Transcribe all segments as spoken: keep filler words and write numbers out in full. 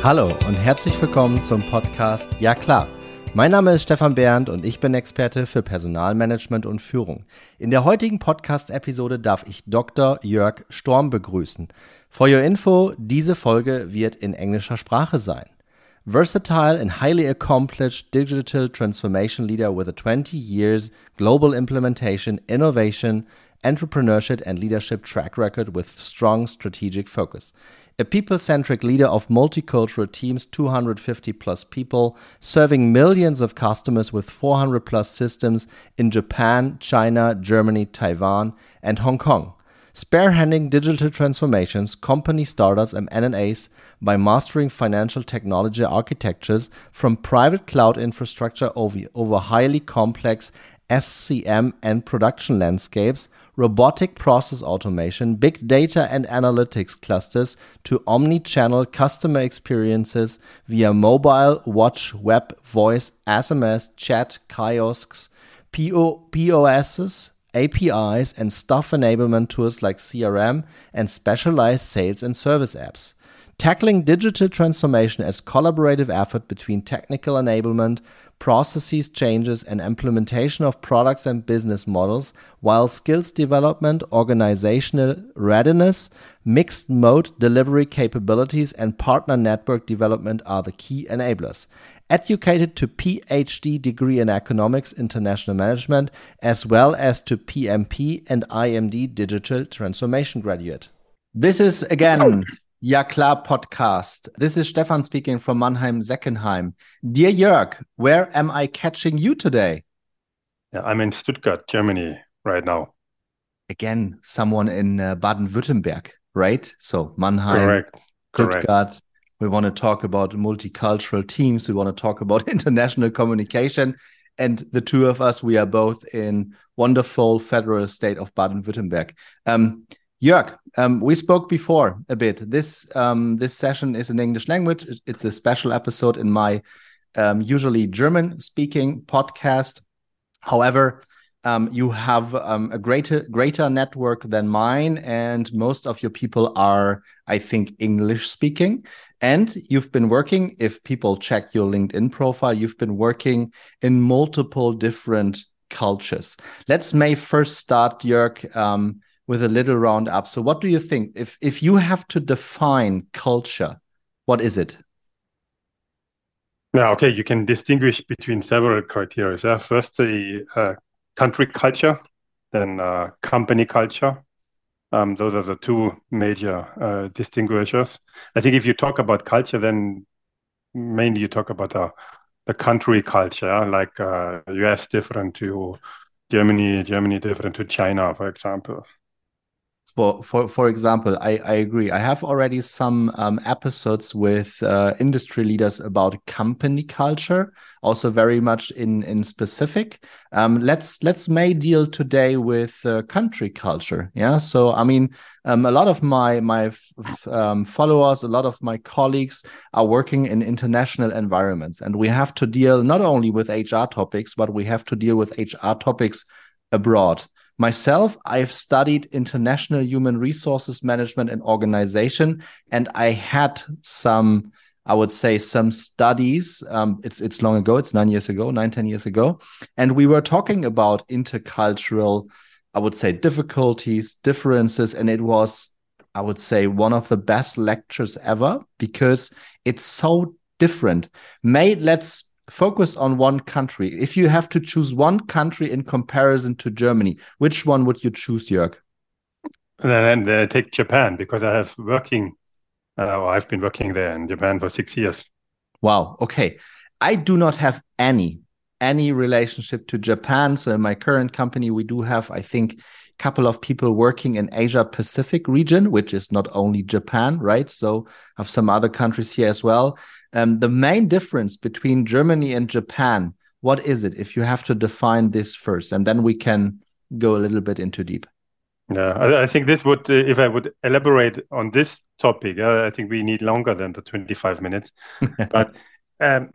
Hallo und herzlich willkommen zum Podcast Ja klar. Mein Name ist Stefan Bernd und ich bin Experte für Personalmanagement und Führung. In der heutigen Podcast-Episode darf ich Doktor Jörg Storm begrüßen. For your info, diese Folge wird in englischer Sprache sein. Versatile and highly accomplished digital transformation leader with a twenty years global implementation, innovation, entrepreneurship and leadership track record with strong strategic focus. A people-centric leader of multicultural teams, two hundred fifty plus people, serving millions of customers with four hundred plus systems in Japan, China, Germany, Taiwan, and Hong Kong. Spearheading digital transformations, company startups and M and A's by mastering financial technology architectures from private cloud infrastructure over, over highly complex S C M and production landscapes, robotic process automation, big data and analytics clusters to omni-channel customer experiences via mobile, watch, web, voice, S M S, chat, kiosks, P O, P O Ss, A P Is, and staff enablement tools like C R M and specialized sales and service apps. Tackling digital transformation as collaborative effort between technical enablement, processes changes, and implementation of products and business models, while skills development, organizational readiness, mixed mode delivery capabilities, and partner network development are the key enablers. Educated to P H D degree in economics, international management, as well as to P M P and I M D digital transformation graduate. This is again Ja klar podcast. This is Stefan speaking from Mannheim-Seckenheim. Dear Jörg, where am I catching you today? Yeah, I'm in Stuttgart, Germany right now. Again, someone in uh, Baden-Württemberg, right? So Mannheim, Correct. Stuttgart. Correct. We want to talk about multicultural teams. We want to talk about international communication. And the two of us, we are both in wonderful federal state of Baden-Württemberg. Um, Jörg, um, we spoke before a bit. This um, this session is in English language. It's a special episode in my um, usually German-speaking podcast. However, um, you have um, a greater greater network than mine, and most of your people are, I think, English-speaking. And you've been working, if people check your LinkedIn profile, you've been working in multiple different cultures. Let's may first start, Jörg, um, with a little roundup. So what do you think? If if you have to define culture, what is it? Yeah, okay, you can distinguish between several criteria. Yeah? First, the uh, country culture, then uh, company culture. Um, those are the two major uh, distinguishers. I think if you talk about culture, then mainly you talk about the, the country culture, yeah? Like uh, U S different to Germany, Germany different to China, for example. For for for example, I, I agree. I have already some um, episodes with uh, industry leaders about company culture, also very much in in specific. Um, let's let's may deal today with uh, country culture. Yeah. So I mean, um, a lot of my my f- um, followers, a lot of my colleagues are working in international environments, and we have to deal not only with H R topics, but we have to deal with H R topics abroad. Myself, I've studied international human resources management and organization, and I had some, I would say, some studies. Um, it's it's long ago. It's nine years ago, nine, ten years ago. And we were talking about intercultural, I would say, difficulties, differences. And it was, I would say, one of the best lectures ever because it's so different. May let's focus on one country. If you have to choose one country in comparison to Germany, which one would you choose, Jörg? And then, then I take Japan because I have working, uh, or I've been working there in Japan for six years. Wow. Okay. I do not have any, any relationship to Japan. So in my current company, we do have, I think, a couple of people working in Asia Pacific region, which is not only Japan, right? So I have some other countries here as well. Um, the main difference between Germany and Japan, what is it? If you have to define this first, and then we can go a little bit into deep. Yeah, I, I think this would, uh, if I would elaborate on this topic, uh, I think we need longer than the twenty-five minutes. But um,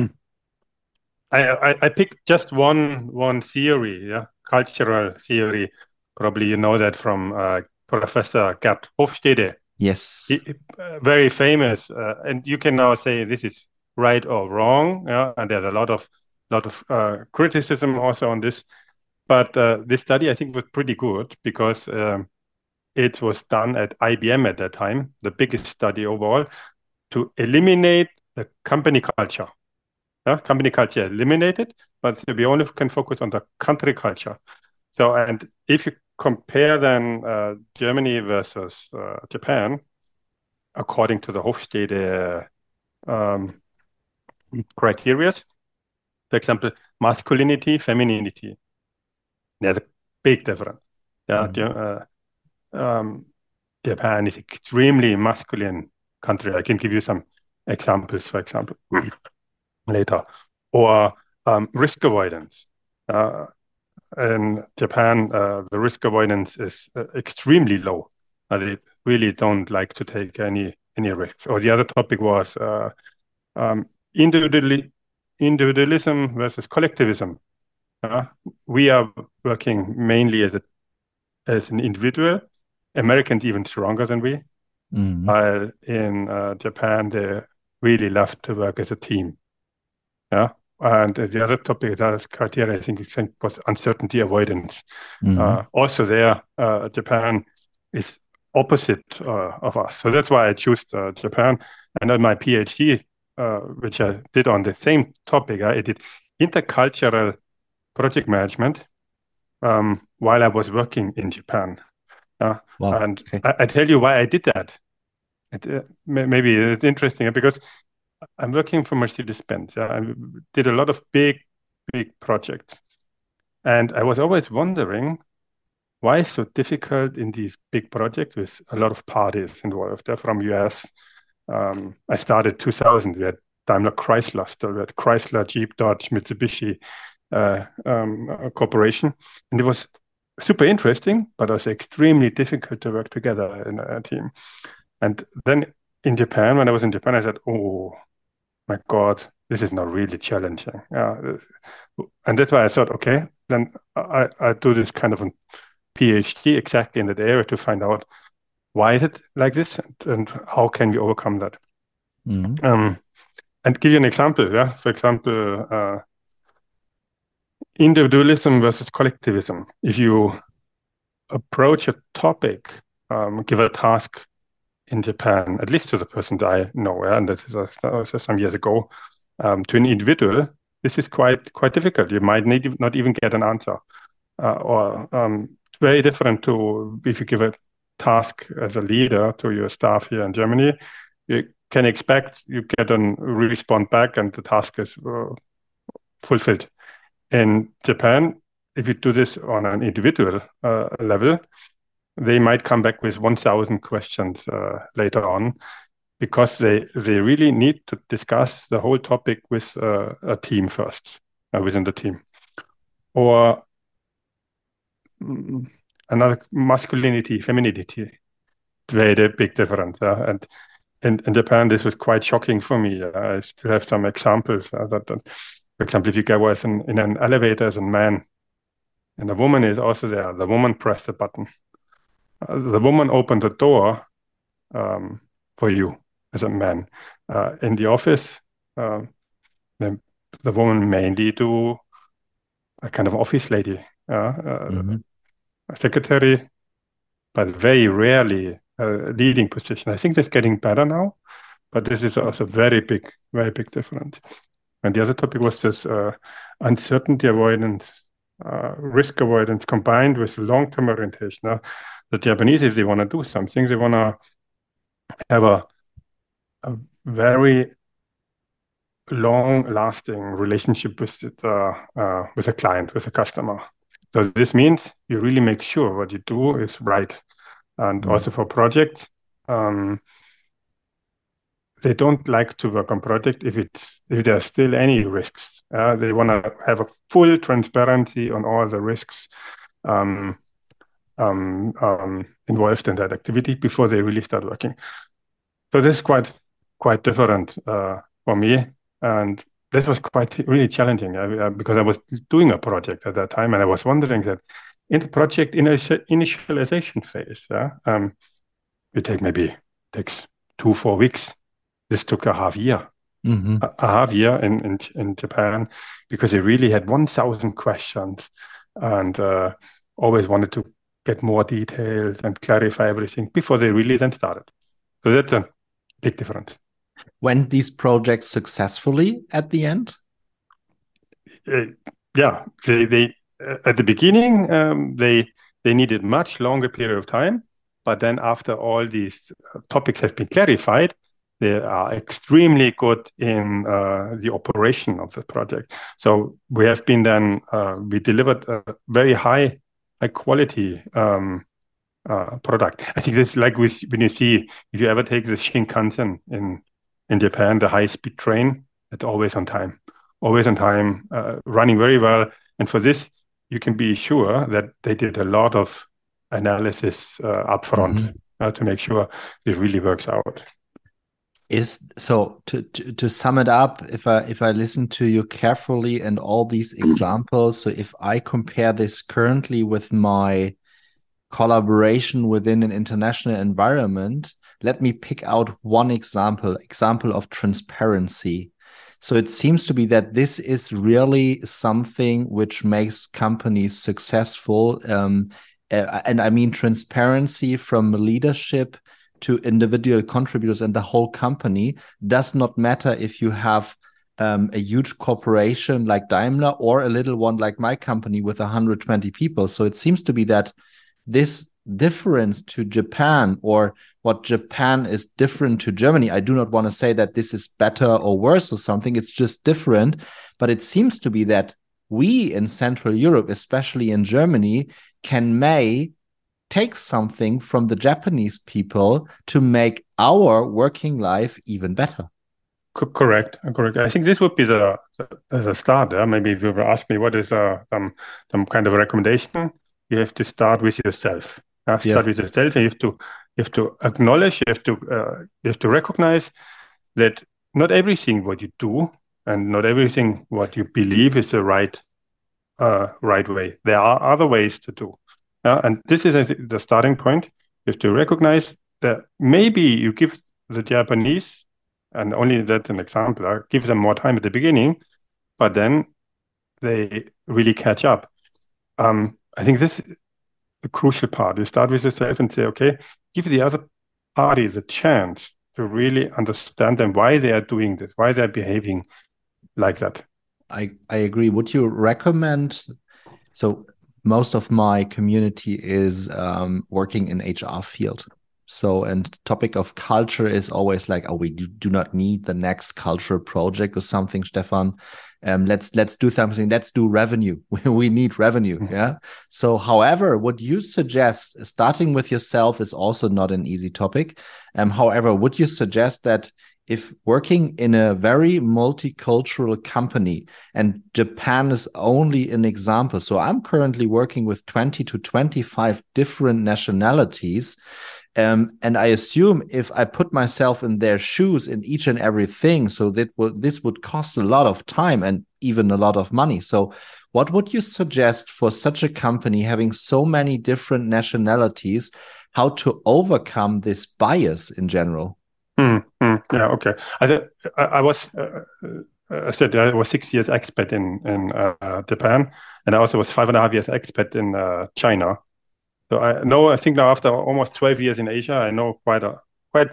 I, I, I picked just one one theory, yeah, cultural theory. Probably you know that from uh, Professor Gerd Hofstede. Yes. He- uh, very famous, uh, and you can now say this is right or wrong. Yeah, and there's a lot of lot of uh, criticism also on this. But uh, this study, I think, was pretty good because um, it was done at I B M at that time, the biggest study overall, to eliminate the company culture. Yeah, company culture eliminated, but we only can focus on the country culture. So, and if you compare then uh, Germany versus uh, Japan, according to the Hofstede um, criteria, for example, masculinity, femininity, there's a big difference. Yeah, Mhm. uh, um, Japan is extremely masculine country. I can give you some examples, for example, later. Or um, risk avoidance. Uh, in Japan, uh, the risk avoidance is uh, extremely low. Uh, they really don't like to take any any risks. Or the other topic was uh, um, individually, individualism versus collectivism. Uh, we are working mainly as a as an individual. Americans even stronger than we. Mhm. While in uh, Japan, they really love to work as a team. Yeah. And uh, the other topic, the other criteria, I think, was uncertainty avoidance. Mhm. Uh, also, there, uh, Japan is opposite uh, of us. So that's why I chose uh, Japan. And then my PhD, uh, which I did on the same topic, I did intercultural project management um, while I was working in Japan. Uh, Wow. and Okay. I, I tell you why I did that. It, uh, may- maybe it's interesting because I'm working for Mercedes-Benz. Yeah? I did a lot of big, big projects. And I was always wondering why it's so difficult in these big projects with a lot of parties involved. They're from U S. Um, I started two thousand. We had Daimler Chrysler still. We had Chrysler, Jeep, Dodge, Mitsubishi uh, um, uh, Corporation. And it was super interesting, but also extremely difficult to work together in a team. And then in Japan, when I was in Japan, I said, oh, my God, this is not really challenging. Yeah, and that's why I thought, okay, then I, I do this kind of a PhD exactly in that area to find out why is it like this and, and how can we overcome that. Mhm. Um, and give you an example. Yeah, for example, uh, individualism versus collectivism. If you approach a topic, um, give a task in Japan, at least to the person that I know, yeah, and that was some years ago, um, to an individual, this is quite quite difficult. You might need not even get an answer, uh, or um, it's very different to if you give a task as a leader to your staff here in Germany. You can expect you get a response back, and the task is uh, fulfilled. In Japan, if you do this on an individual uh, level, they might come back with one thousand questions uh, later on because they they really need to discuss the whole topic with uh, a team first, uh, within the team. Or mm, another masculinity, femininity, very big difference. Uh, and in, in Japan, this was quite shocking for me. Uh, I still have some examples uh, that, that, for example, if you go as an, in an elevator as a man, and the woman is also there, the woman pressed the button. Uh, the woman opened the door um, for you as a man. Uh, in the office, uh, the, the woman mainly do a kind of office lady, uh, uh, Mhm. a secretary, but very rarely a leading position. I think that's getting better now, but this is also very big, very big difference. And the other topic was this uh, uncertainty avoidance, uh, risk avoidance combined with long-term orientation. Now, the Japanese, if they want to do something, they want to have a, a very long-lasting relationship with the uh, with a client, with a customer. So this means you really make sure what you do is right. And Mhm. also for projects, um, they don't like to work on project if it's if there are still any risks. Uh, they want to have a full transparency on all the risks um, um, um, involved in that activity before they really start working. So this is quite quite different uh, for me, and this was quite really challenging uh, uh, because I was doing a project at that time, and I was wondering that in the project initi- initialization phase, uh, um, we take maybe takes two, four weeks. This took a half year, Mm-hmm. a, a half year in, in, in Japan, because they really had one thousand questions and uh, always wanted to get more details and clarify everything before they really then started. So that's a big difference. Went these projects successfully at the end? Uh, yeah, they, they uh, at the beginning um, they they needed much longer period of time, but then after all these uh, topics have been clarified, they are extremely good in uh, the operation of the project. So we have been then uh, we delivered a very high high quality um, uh, product. I think this is like with, when you see, if you ever take the Shinkansen in in Japan, the high speed train, it's always on time, always on time, uh, running very well. And for this, you can be sure that they did a lot of analysis uh, upfront Mm-hmm. uh, to make sure it really works out. Is so to, to to sum it up, if I if I listen to you carefully and all these examples, so if I compare this currently with my collaboration within an international environment, let me pick out one example, example of transparency. So it seems to be that this is really something which makes companies successful. Um, uh, and I mean transparency from leadership to individual contributors and the whole company. Does not matter if you have um, a huge corporation like Daimler or a little one like my company with one hundred twenty people. So it seems to be that this difference to Japan, or what Japan is different to Germany. I do not want to say that this is better or worse or something. It's just different. But it seems to be that we in Central Europe, especially in Germany, can may take something from the Japanese people to make our working life even better. Co- correct, correct. I think this would be the, the as a start. Yeah? Maybe if you were ask me what is uh, some some kind of a recommendation, you have to start with yourself. Uh, Yeah. start with yourself, and you have to you have to acknowledge, you have to uh, you have to recognize that not everything what you do and not everything what you believe is the right uh, right way. There are other ways to do, uh, and this is I think, the starting point. You have to recognize that maybe you give the Japanese, and only that's an example, uh, give them more time at the beginning, but then they really catch up. Um, I think this is the crucial part. You start with yourself and say, okay, give the other party the chance to really understand them, why they are doing this, why they're behaving like that. I, I agree. Would you recommend? So most of my community is um, working in H R field. So, and topic of culture is always like, oh, we do, do not need the next cultural project or something, Stefan. Um, let's let's do something. Let's do revenue. We need revenue. Yeah. So, however, what you suggest, starting with yourself, is also not an easy topic. Um, however, would you suggest that if working in a very multicultural company, and Japan is only an example, so I'm currently working with twenty to twenty-five different nationalities. Um, and I assume if I put myself in their shoes in each and everything, so that would this would cost a lot of time and even a lot of money. So, what would you suggest for such a company having so many different nationalities, how to overcome this bias in general? Mm, mm, yeah, okay. I, th- I, I was, uh, uh, I said I was six years expat in in uh, Japan, and I also was five and a half years expat in uh, China. So I know, I think now after almost twelve years in Asia, I know quite a quite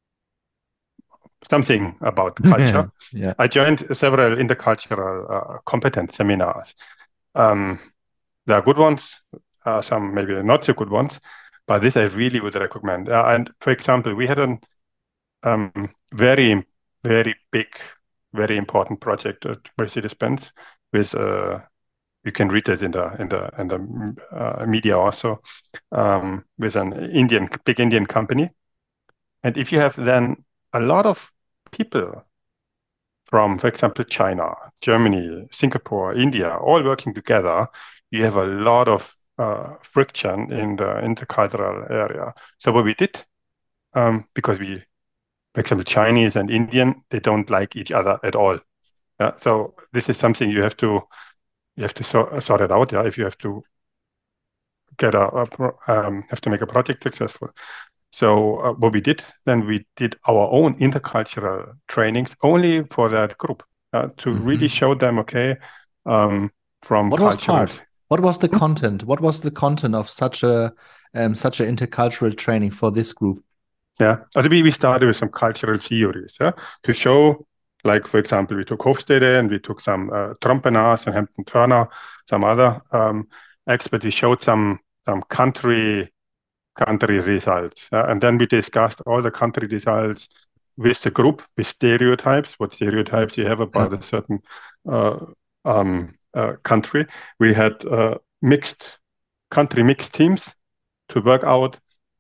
something about culture. Yeah. I joined several intercultural uh, competence seminars. Um, there are good ones, uh, some maybe not so good ones, but this I really would recommend. Uh, and for example, we had a um, very, very big, very important project at Mercedes-Benz with uh, you can read it in the in the in the uh, media also, um, with an Indian big Indian company. And if you have then a lot of people from, for example, China, Germany, Singapore, India, all working together, you have a lot of uh, friction in the intercultural area. So what we did, um, because we, for example, Chinese and Indian, they don't like each other at all. Yeah, so this is something you have to you have to sort, sort it out. Yeah, if you have to get a, a pro- um, have to make a project successful. So uh, what we did, then we did our own intercultural trainings only for that group uh, to mm-hmm. really show them, okay, um, from what cultural. Was part? What was the hmm? content? What was the content of such a um, such an intercultural training for this group? Yeah, also we, we started with some cultural theories yeah, to show, like, for example, we took Hofstede and we took some uh, Trompenas and Hampton Turner, some other um, experts. We showed some some country country results. Uh, and then we discussed all the country results with the group, with stereotypes, what stereotypes you have about yeah. a certain uh, um, uh, country. We had uh, mixed country mixed teams to work out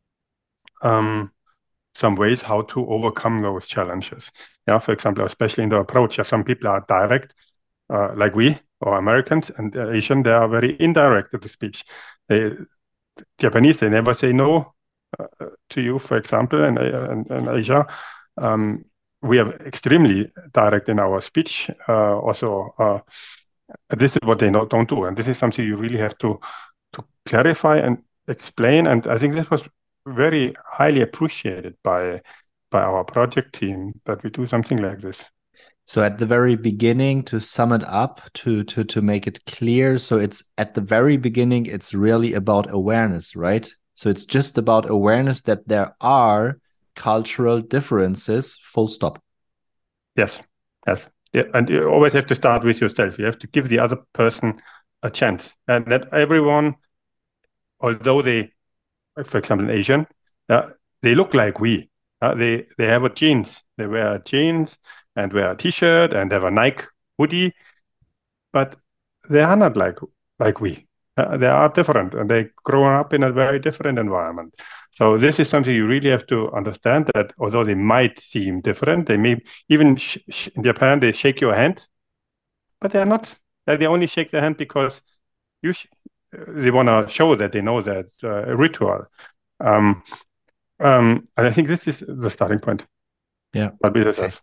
um, some ways how to overcome those challenges. Yeah, for example, especially in the approach, yeah, some people are direct, uh, like we or Americans, and uh, Asian, they are very indirect with the speech. They Japanese, they never say no uh, to you, for example, and in, in, in Asia. Um, we are extremely direct in our speech. Uh, also, uh, this is what they not, don't do. And this is something you really have to, to clarify and explain. And I think this was very highly appreciated by, by our project team, that we do something like this. So at the very beginning, to sum it up, to to to make it clear, so it's at the very beginning, it's really about awareness, right? So it's just about awareness that there are cultural differences, full stop. Yes, yes. Yeah. And you always have to start with yourself. You have to give the other person a chance. And that everyone, although they, for example, Asian, uh, they look like we. Uh, they, they have a jeans. They wear jeans and wear a t-shirt and have a Nike hoodie, but they are not like like we. Uh, they are different, and they grow up in a very different environment. So this is something you really have to understand, that although they might seem different, they may even sh sh in Japan they shake your hand, but they are not. They only shake their hand because you sh they want to show that they know that uh, ritual. Um, um, and I think this is the starting point. Yeah. But be yourself.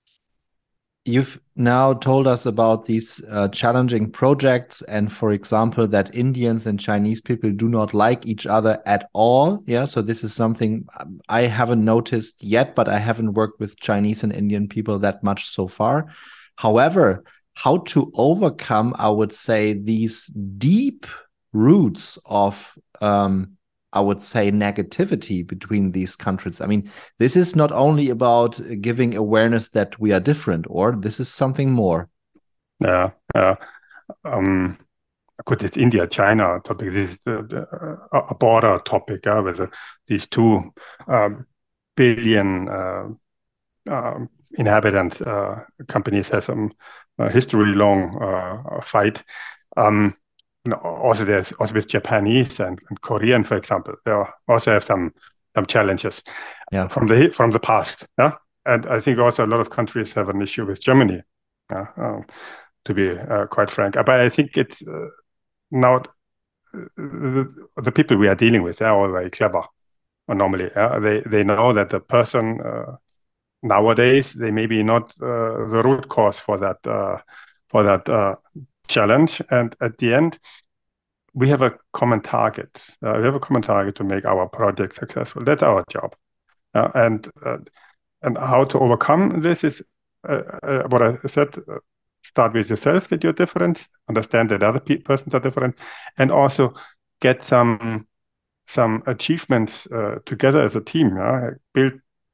You've now told us about these uh, challenging projects, and for example, that Indians and Chinese people do not like each other at all. Yeah, so this is something I haven't noticed yet, but I haven't worked with Chinese and Indian people that much so far. However, how to overcome, I would say, these deep roots of um, I would say, negativity between these countries. I mean, this is not only about giving awareness that we are different, or this is something more. Yeah, yeah. Um, good, it's India, China topic. This is the, the, a border topic, uh, with uh, these two um, billion uh, uh, inhabitants. Uh, companies have some uh, history-long uh, fight. Um, Also, there's also with Japanese and, and Korean, for example, they also have some some challenges yeah. from the from the past. Yeah, and I think also a lot of countries have an issue with Germany. Yeah, um, to be uh, quite frank, but I think it's uh, now the, the people we are dealing with, they are all very clever. Normally, uh, they they know that the person uh, nowadays they may be not uh, the root cause for that uh, for that. Uh, challenge, and at the end we have a common target. Uh, we have a common target to make our project successful. That's our job, uh, and uh, and how to overcome this is uh, uh, what I said. Uh, start with yourself, that you're different, understand that other pe persons are different, and also get some some achievements uh, together as a team. Uh, build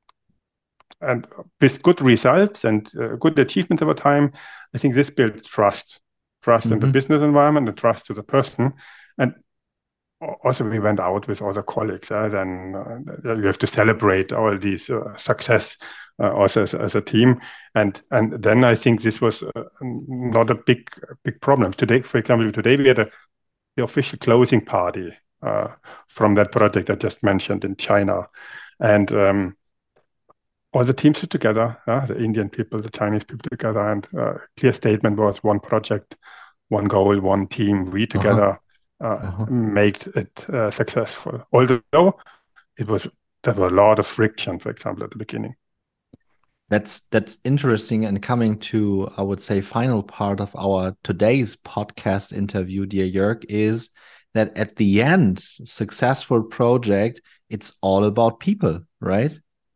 and with good results and uh, good achievements over time. I think this builds trust. Trust mm-hmm. in the business environment and trust to the person. And also we went out with other colleagues. Uh, then uh, you have to celebrate all these uh, success uh, also as, as a team. And and then I think this was uh, not a big big problem. Today, for example, today we had a, the official closing party uh, from that project I just mentioned in China. And um, all the teams were together, uh, the Indian people, the Chinese people together, and uh, clear statement was one project, one goal, one team. We together uh-huh. Uh, uh-huh. make it uh, successful. Although it was there were a lot of friction, for example, at the beginning. That's that's interesting. And coming to, I would say, final part of our today's podcast interview, dear Jörg, is that at the end, successful project it's all about people, right?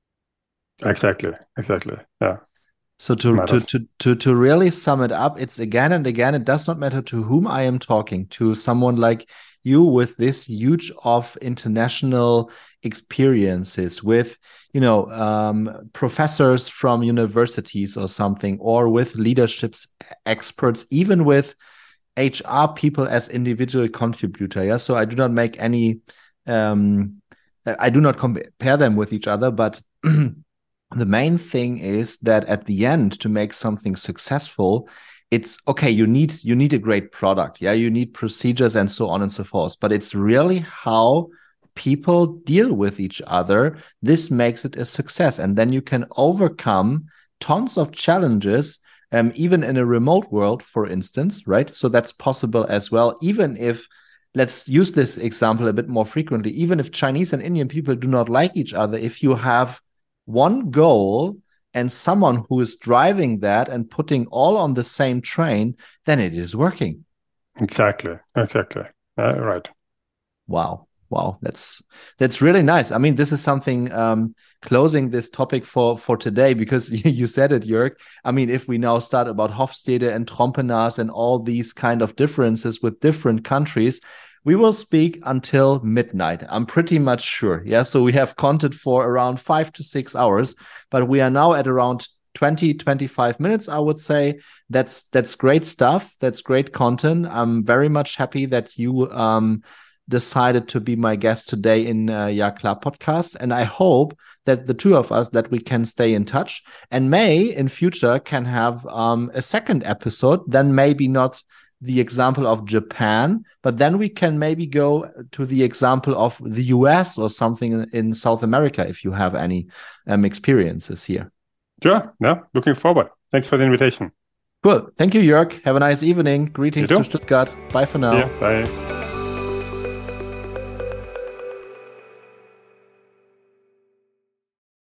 Exactly, exactly. Yeah. So to, to to to to really sum it up, it's again and again, it does not matter to whom I am talking, to someone like you with this huge of international experiences, with, you know, um, professors from universities or something, or with leadership experts, even with H R people as individual contributor. Yeah. So I do not make any, um, I do not compare them with each other, but the main thing is that at the end, to make something successful, it's okay, you need you need a great product. Yeah, you need procedures and so on and so forth. But it's really how people deal with each other. This makes it a success. And then you can overcome tons of challenges, um, even in a remote world, for instance, right? So that's possible as well, even if, let's use this example a bit more frequently, even if Chinese and Indian people do not like each other, if you have one goal and someone who is driving that and putting all on the same train, then it is working. Exactly, exactly. Uh, right. Wow. Wow, that's that's really nice. I mean, this is something, um, closing this topic for for today, because you said it, Jörg. I mean, if we now start about Hofstede and Trompenas and all these kind of differences with different countries, we will speak until midnight. I'm pretty much sure. Yeah, so we have content for around five to six hours, but we are now at around twenty, twenty-five minutes, I would say. That's that's great stuff. That's great content. I'm very much happy that you um decided to be my guest today in uh, Ja Klar podcast. And I hope that the two of us, that we can stay in touch and may in future can have um, a second episode, then maybe not the example of Japan, but then we can maybe go to the example of the U S or something in South America, if you have any um, experiences here. Sure. Yeah, looking forward. Thanks for the invitation. Cool. Thank you, Jörg. Have a nice evening. Greetings to Stuttgart. Bye for now. Yeah, bye.